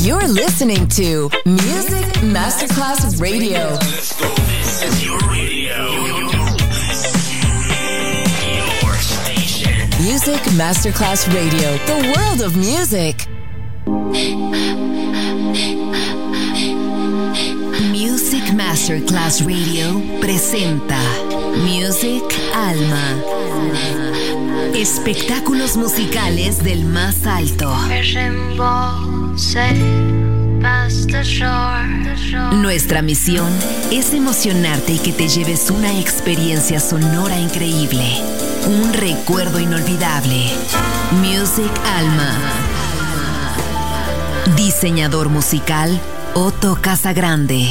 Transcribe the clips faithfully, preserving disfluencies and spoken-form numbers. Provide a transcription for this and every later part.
You're listening to Music Masterclass Radio. Let's go. This is your radio. Your station. Music Masterclass Radio. The world of music. Music Masterclass Radio presenta Music Alma. Espectáculos musicales del más alto. Nuestra misión es emocionarte y que te lleves una experiencia sonora increíble, un recuerdo inolvidable. Music Alma. Diseñador musical Otto Casagrande.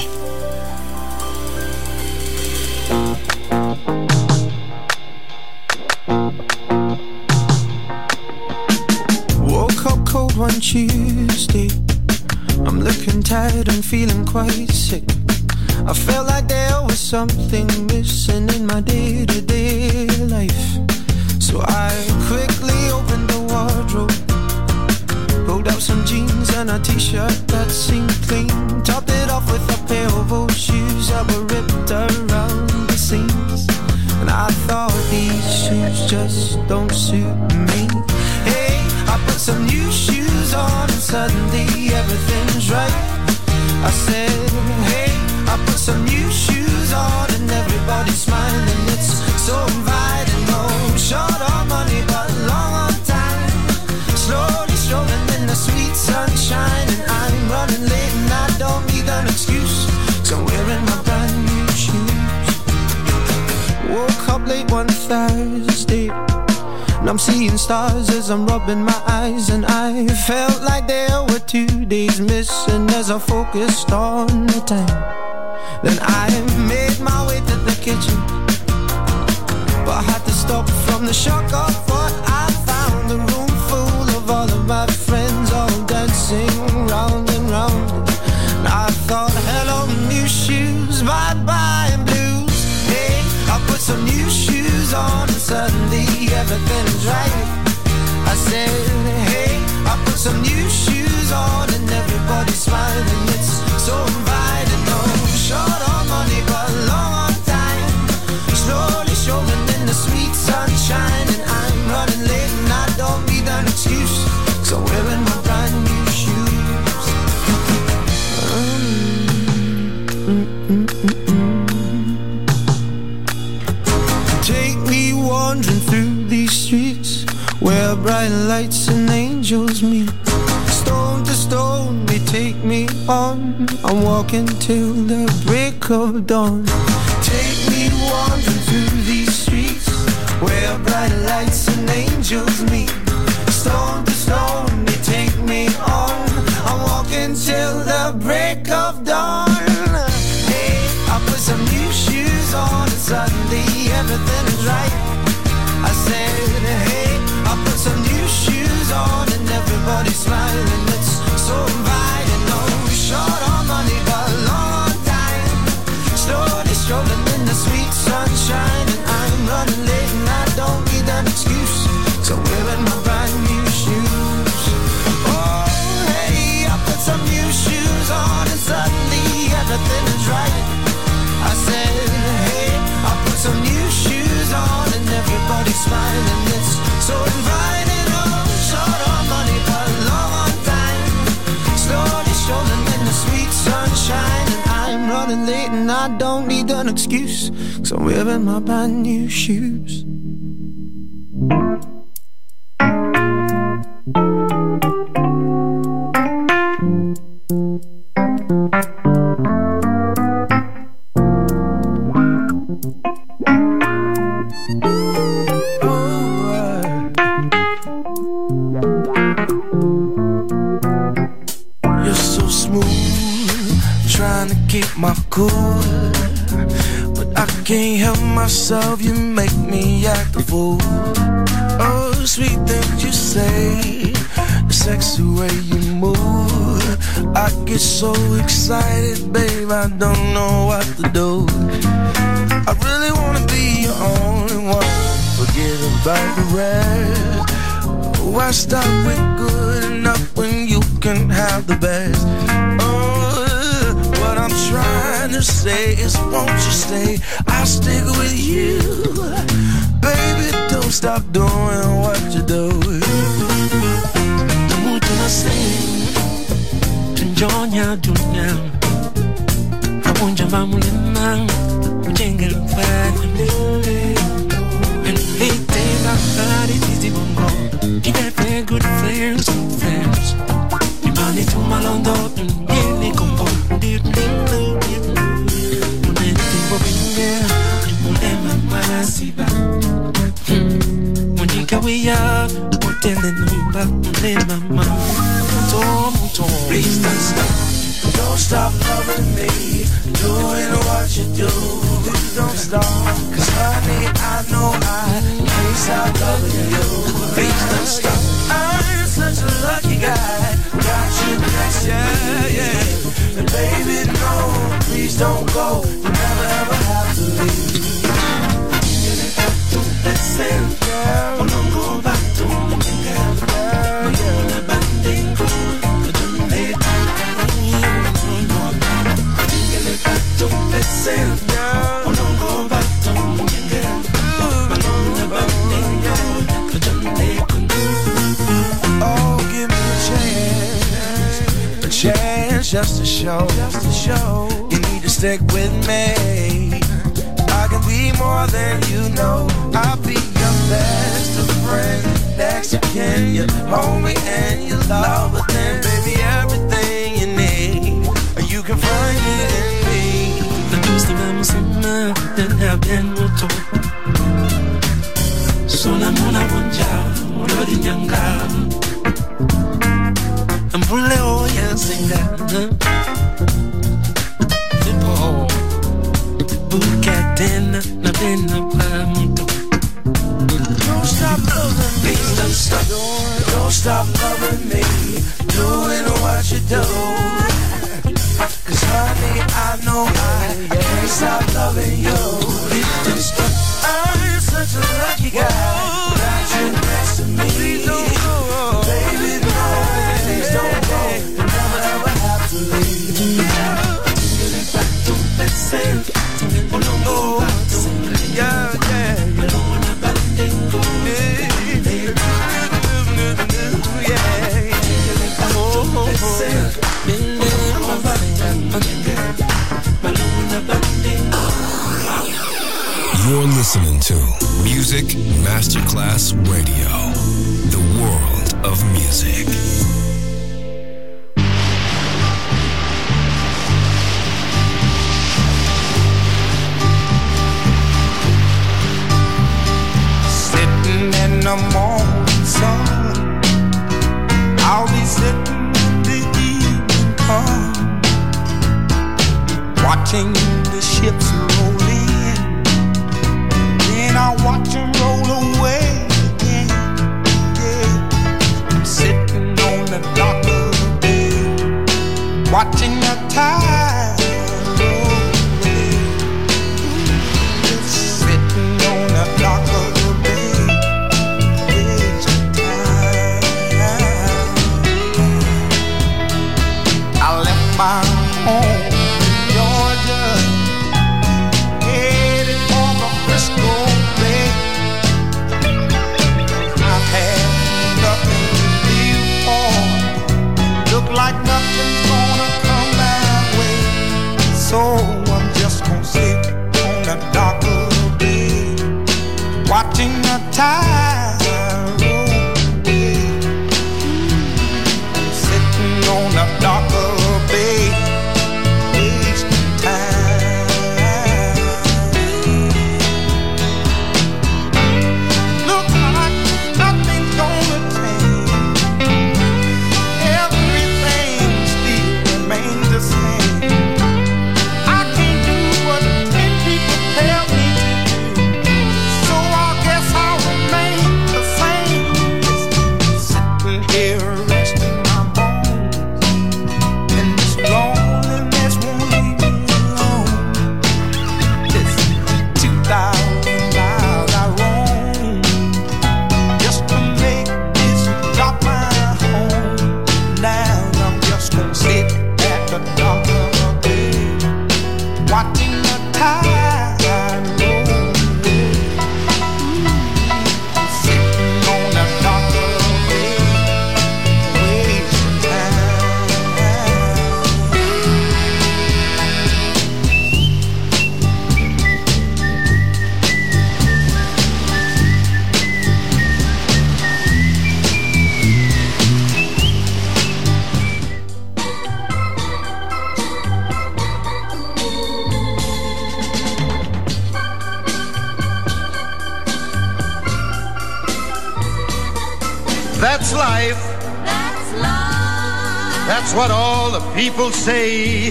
Woke up cold one Tuesday. I'm looking tired and feeling quite sick. I felt like there was something missing in my day-to-day life. So I quickly opened the wardrobe, pulled out some jeans and a t-shirt that seemed clean, topped it off with a pair of old shoes that were ripped around the seams. And I thought, these shoes just don't suit me. Hey, I put some new shoes on and suddenly everything's right. I said, hey, I put some new shoes on and everybody's smiling. It's so inviting. No short on money but long on time. Slowly strolling in the sweet sunshine, and I'm running late and I don't need an excuse, so I'm wearing my brand new shoes. Woke up late one Thursday, and I'm seeing stars as I'm rubbing my eyes, and I felt like there were two days missing as I focused on the time. Then I made my way to the kitchen, but I had to stop from the shock of what I found. The room full of all of my friends, all dancing round and round. And I thought, hello new shoes, bye-bye and blues. Hey, I put some new shoes on and suddenly everything's right. I said, hey, I put some new shoes on and everybody's smiling. It's so inviting. No short on money but long on time. Slowly strolling in the sweet sunshine, and I'm running late and I don't need an excuse, so I'm wearing my brand new shoes. Mm-mm-mm-mm. Take me wandering through these streets where bright lights and angels meet. Stone to stone they take me on. I'm walking till the break of dawn. Take me wandering through these streets where bright lights and angels meet. Stone to stone they take me on. I'm walking till the break of dawn. Hey, I put some new shoes on and suddenly everything is right. I said, hey, I put some new shoes on and everybody's smiling. It's so inviting. No short on money but long on time. Slowly strolling in the sweet sunshine, and I'm running late and I don't need an excuse, so I'm wearing my brand new shoes. Oh, hey, I put some new shoes on and suddenly everything is right. I said, hey, I put some new shoes on and everybody's smiling. It's so inviting. Oh, short on money but long on time. Slowly strolling in the sweet sunshine, and I'm running late and I don't need an excuse, so I'm wearing my brand new shoes. You're so smooth, trying to keep my cool, but I can't help myself, you make me act a fool. Oh, sweet things you say, the sexy way you move, I get so excited, babe, I don't know what to do. I really wanna be your only one, forget about the rest. Why stop with good enough when you you can have the best. Oh, what I'm trying to say is, won't you stay? I'll stick with you. Baby, don't stop doing what you do. Namuto na sing, tunjonya dunya. Amunja mamulimang, ujengel fagni. And late my heart is easy bongo. You got very good friends, good friends. You money to my londo, and really combo. Did me love you? When anything will be there, you will never mind. See back. When you go way up, we're telling them about my mom. Please don't stop, don't stop loving me, doing what you do. Please don't stop, cause honey, I know I can't stop loving you. Please don't stop, I'm such a lucky guy, got you next to me. Yeah. And baby, no, please don't go, you never ever have to leave. Listen, girl, I'm gonna go back to my girl. I'm gonna banding cool. Listen, girl, I'm gonna go back to my girl. I'm gonna banding cool. Oh, give me a chance, a chance just to show, just to show. You need to stick with me. I can be more than you know. I'll be your best of friend. Next you can, you hold me and you love. But then, baby, everything you need, you can find it in me. The gusti vamos a then have been muto. Sola mona wonja, rodi nyanga. Ambule oya singa. Tipo. Bucatena, na pena pa muito. Don't stop loving me, don't stop, don't stop loving me, doing what you do. Cause honey, I know I can't stop loving you. Don't stop, I'm such a lucky guy, got you next to me. Please don't go, baby, no, please don't go, you never ever have to leave. Let's say oh, yeah, yeah. You're listening to Music Masterclass Radio, the world of music. In the morning sun, I'll be sitting when the evening comes, watching the ships roll in, then I'll watch them roll away again. Yeah, I'm sitting on the dock of the bay, watching the tide roll away. Sitting on the dock of the my home in Georgia, headed for the Frisco Bay. I've had nothing to live for, look like nothing's gonna come my way, so I'm just gonna sit on the dock of the bay, watching the tide roll away. I'm sitting on the dock of the bay, wasting time. Look like nothing's gonna change, everything still remains the same. I can't do what ten people tell me to do, so I guess I'll remain life. That's life. That's what all the people say.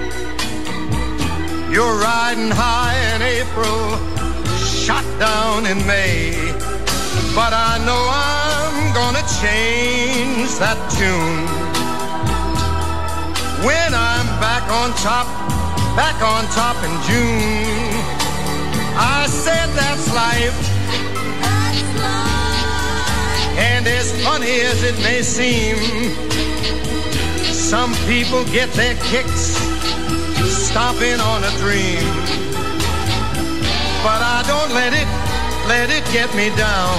You're riding high in April, shot down in May. But I know I'm gonna change that tune when I'm back on top, back on top in June. I said that's life. That's life. And as funny as it may seem, some people get their kicks stomping on a dream. But I don't let it, let it get me down.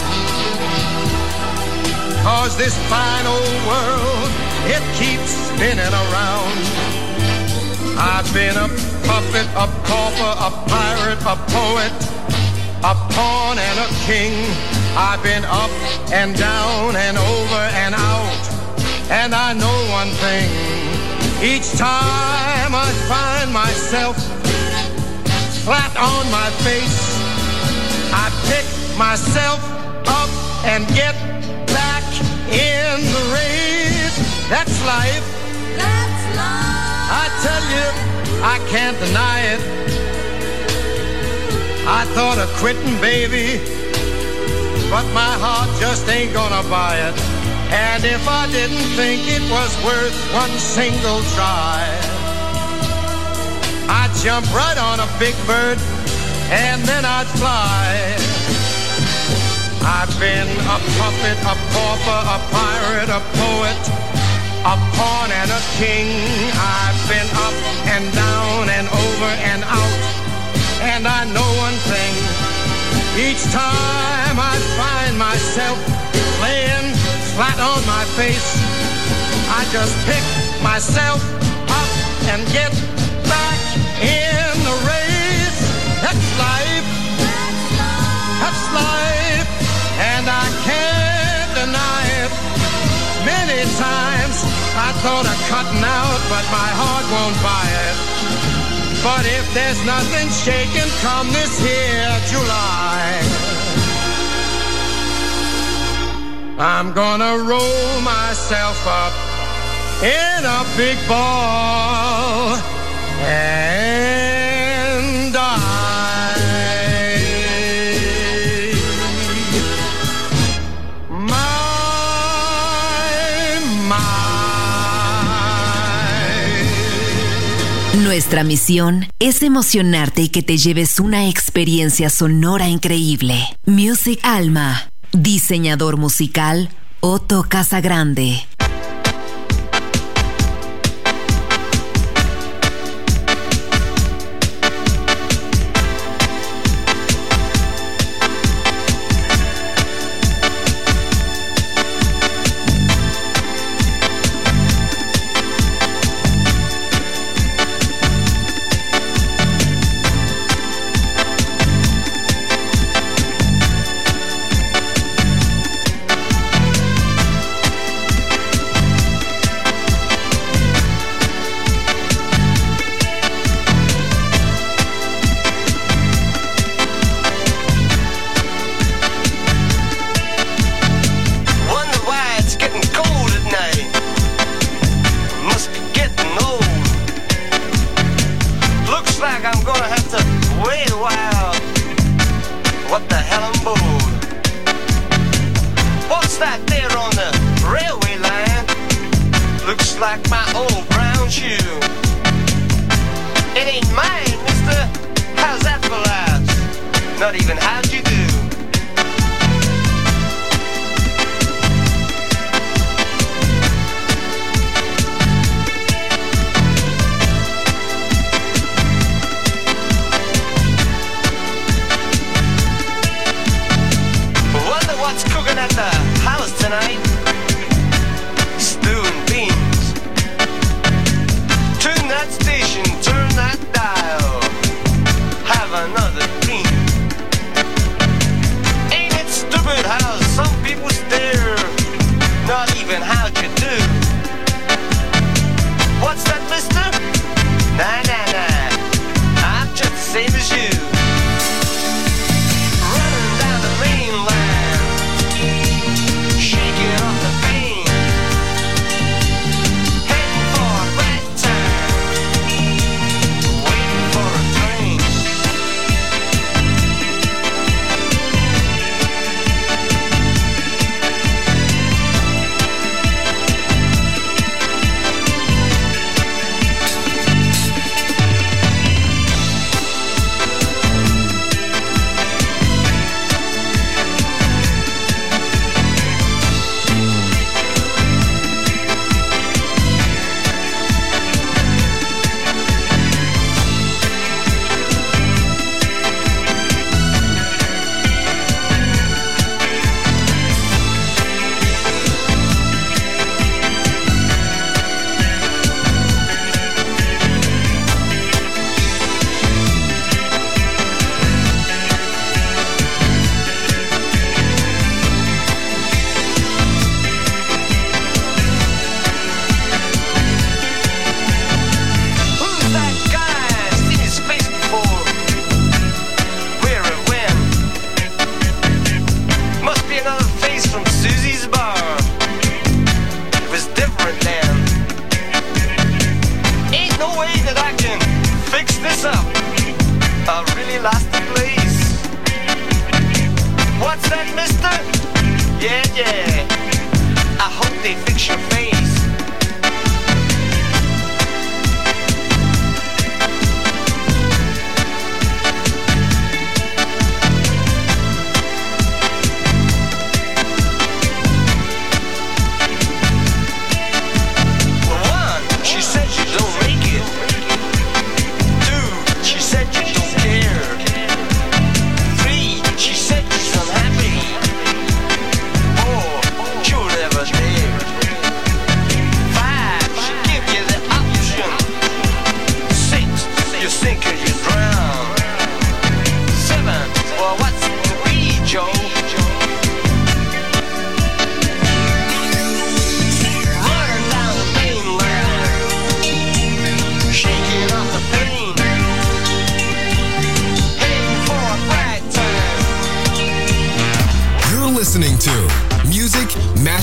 'Cause this fine old world, it keeps spinning around. I've been a puppet, a pauper, a pirate, a poet, a pawn and a king. I've been up and down and over and out. And I know one thing, each time I find myself flat on my face, I pick myself up and get back in the race. That's life. That's life. I tell you, I can't deny it. I thought of quitting, baby, but my heart just ain't gonna buy it. And if I didn't think it was worth one single try, I'd jump right on a big bird and then I'd fly. I've been a puppet, a pauper, a pirate, a poet, a pawn and a king. I've been up and down and over and out. And I know one thing, each time I find myself laying flat on my face, I just pick myself up and get back in the race. That's life. That's life. That's life. And I can't deny it. Many times I thought of cutting out, but my heart won't buy it. But if there's nothing shaking come this here July, I'm gonna roll myself up in a big ball and die. Nuestra misión es emocionarte y que te lleves una experiencia sonora increíble. Music Alma. Diseñador musical Otto Casagrande. Have another dream.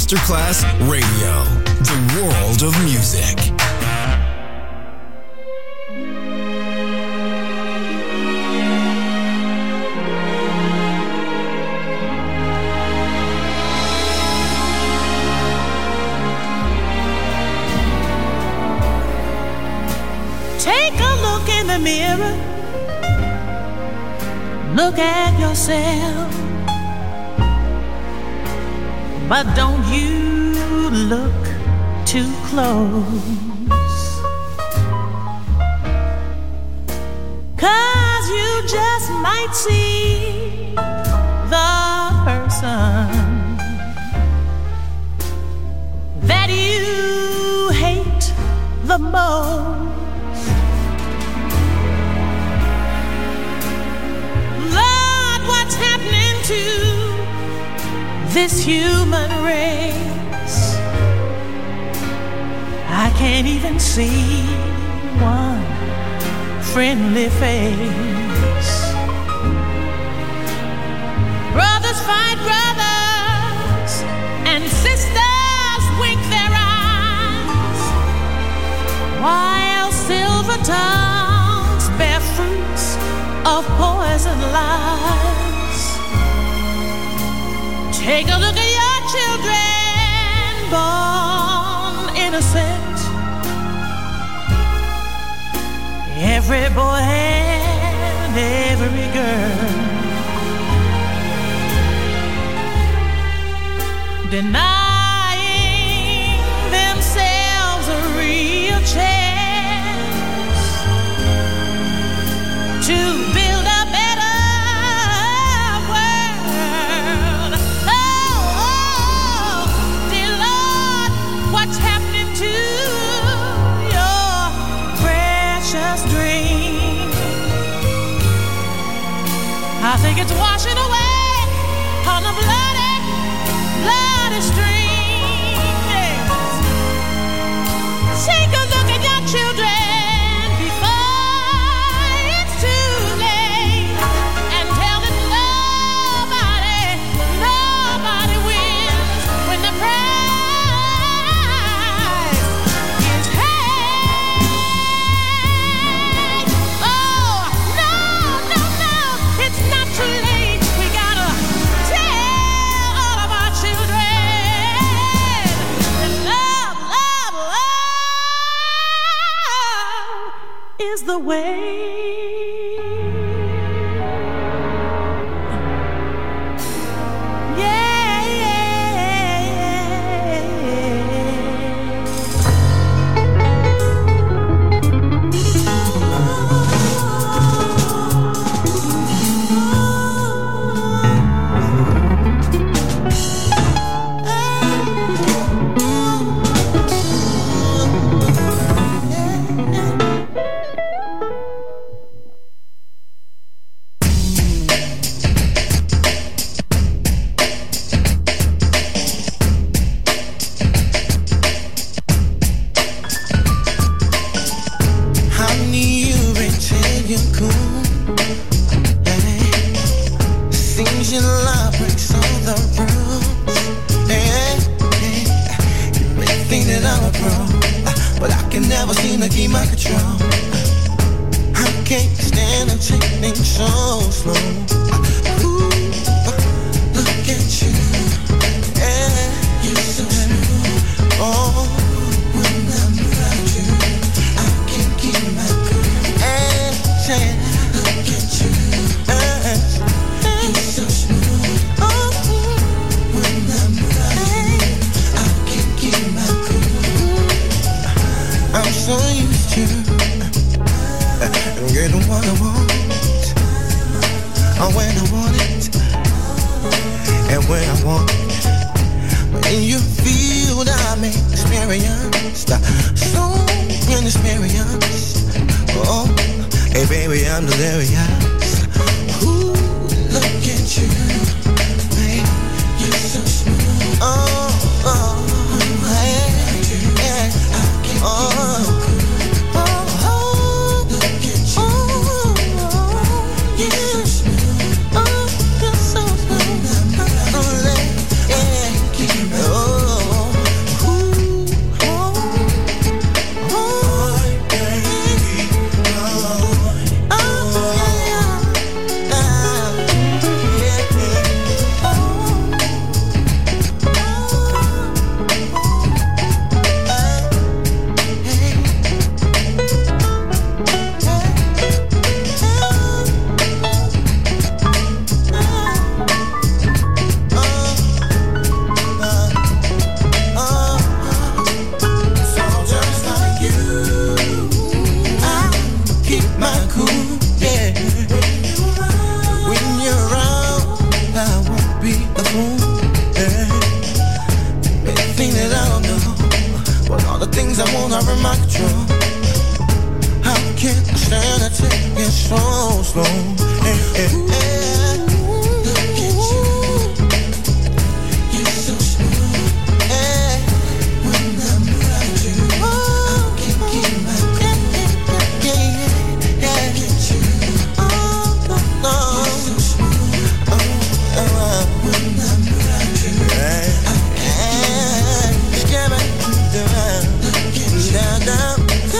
Masterclass Radio, the world of music. Take a look in the mirror. Look at yourself. But don't you look too close, 'cause you just might see the person that you hate the most. Lord, what's happening to this human race? I can't even see one friendly face. Brothers fight brothers, and sisters wink their eyes, while silver tongues bear fruits of poison lies. Take a look at your children, born innocent. Every boy and every girl, denying themselves a real chance to build a better world. What's happening to your precious dream? I think it's washing away on a bloody, bloody stream. Yes. Take a look at your children before it's too late, and tell them nobody, nobody wins when the prize. The way. Yeah, yeah, Oh my control. I can't stand to take it so slow. Hey, hey, hey. Look at you, you're so smooth. Hey, when I'm around you, I can't keep my cool. Yeah, yeah, yeah. Look at you, oh, oh, oh. You're so smooth. Oh, oh, oh. When I'm around you, hey, I can't get my down, down, down.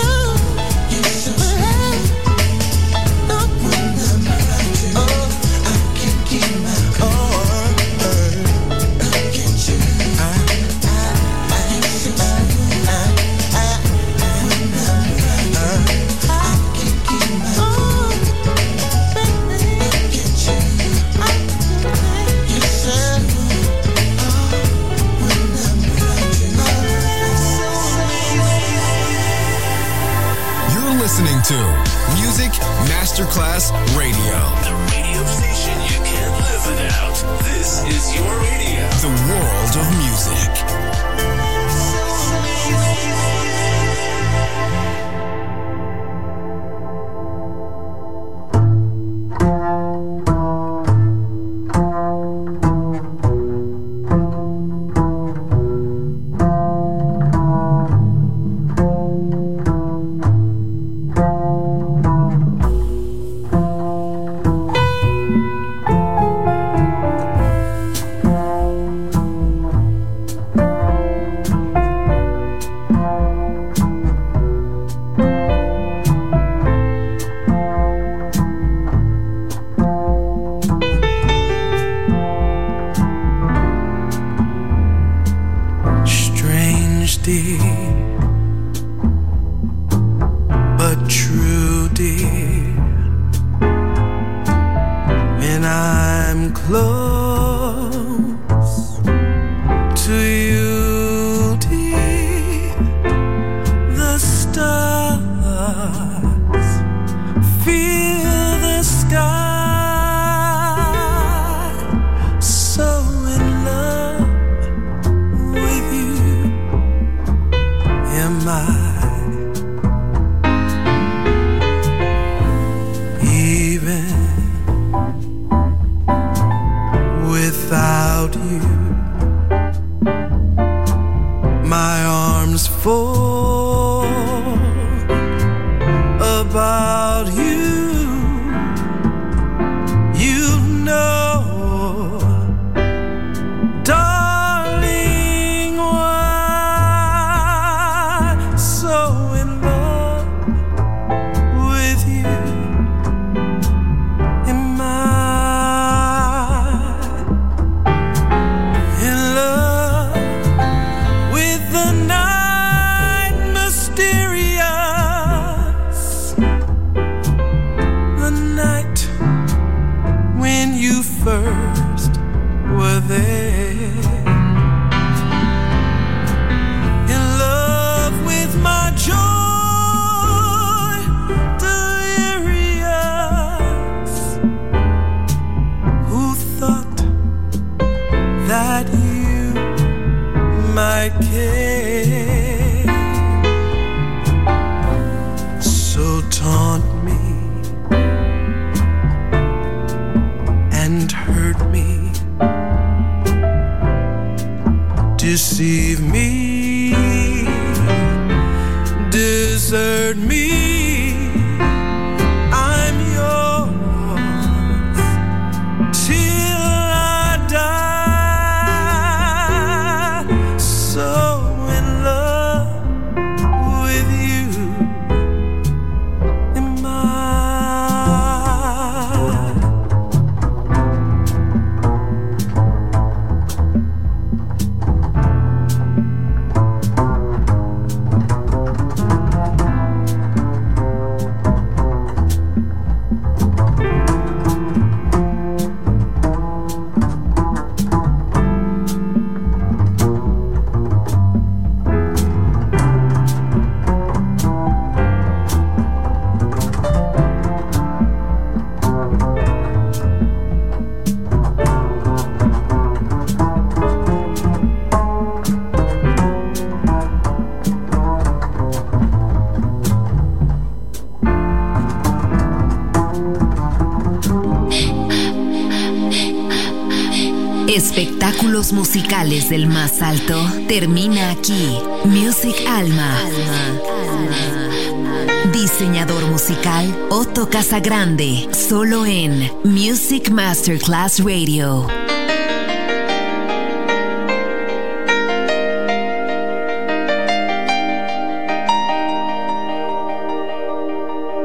Listening to Music Masterclass Radio. The radio station you can't live without. This is your radio. The world of music. Espectáculos musicales del más alto termina aquí. Music Alma. Diseñador musical Otto Casagrande, solo en Music Masterclass Radio.